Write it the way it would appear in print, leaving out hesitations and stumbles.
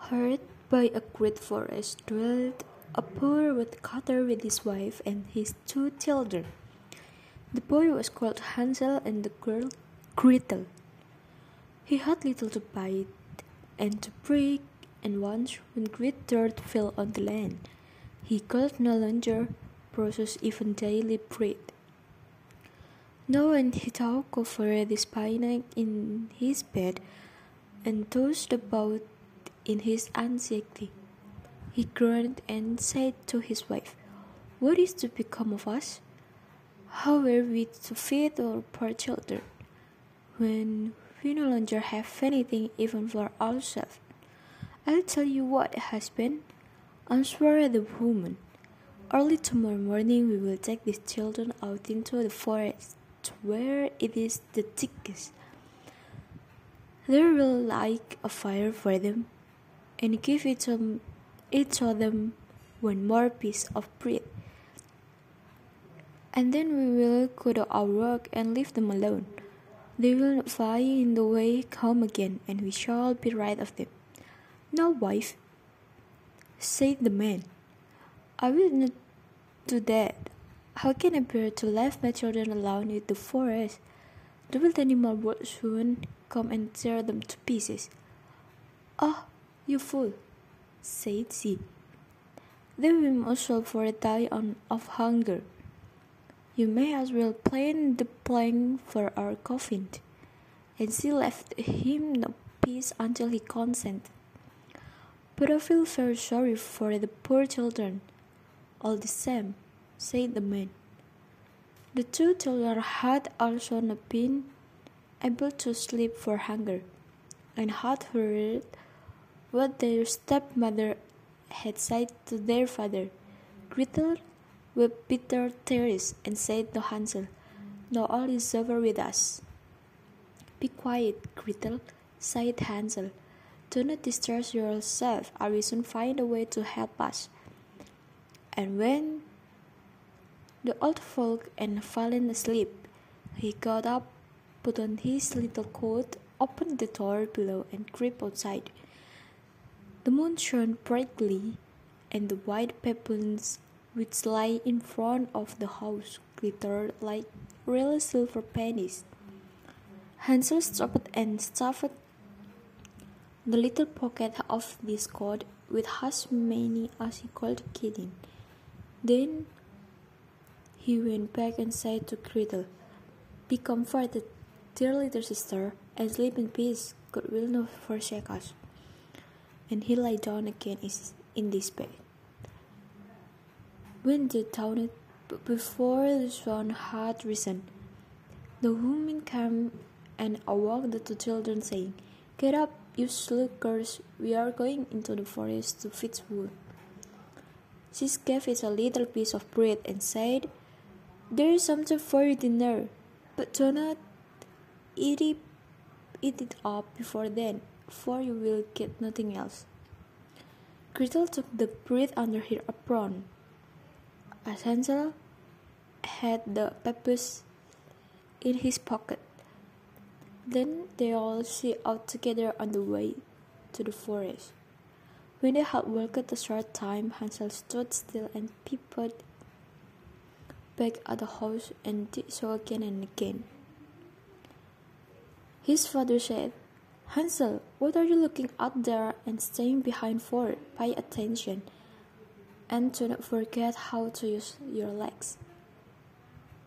Hurt by a great forest dwelled a poor woodcutter with his wife and his 2 children. The boy was called Hansel and the girl Gretel. He had little to bite and to break, and once when great dirt fell on the land, he could no longer process even daily bread. Now when he talked over the spinach in his bed and tossed about in his anxiety, he groaned and said to his wife, "What is to become of us? How are we to feed our poor children when we no longer have anything even for ourselves?" "I'll tell you what, husband," answered the woman. "Early tomorrow morning we will take these children out into the forest where it is the thickest. There will light a fire for them and give each of them one more piece of bread. And then we will go to our work and leave them alone. They will not fly in the way home again, and we shall be rid of them." "No, wife," said the man, "I will not do that. How can I bear to leave my children alone in the forest? The wild animal would soon come and tear them to pieces." "Oh, you fool," said she, "they will most probably die of hunger. You may as well plant the plank for our coffin." And she left him no peace until he consented. "But I feel very sorry for the poor children, all the same," said the man. The 2 children had also not been able to sleep for hunger, and had heard what their stepmother had said to their father. Gretel wept bitter tears and said to Hansel, "Now all is over with us." "Be quiet, Gretel," said Hansel. "Do not distress yourself. I will soon find a way to help us." And when the old folk had fallen asleep, he got up, put on his little coat, opened the door below, and crept outside. The moon shone brightly, and the white pebbles which lay in front of the house glittered like real silver pennies. Hansel stopped and stuffed the little pocket of this coat with as many as he could get in. Then he went back and said to Gretel, "Be comforted, dear little sister, and sleep in peace. God will not forsake us." And he lay down again in this bed. When the dawned, but before the sun had risen, the woman came and awoke the 2 children, saying, "Get up, you sluggers, we are going into the forest to fetch wood." She gave it a little piece of bread and said, "There is something for your dinner, but do not eat it up before then, for you will get nothing else." Gretel took the bread under her apron, as Hansel had the pebbles in his pocket. Then they all set out together on the way to the forest. When they had walked a short time, Hansel stood still and peeped back at the house, and did so again and again. His father said, "Hansel, what are you looking out there and staying behind for? Pay attention, and do not forget how to use your legs."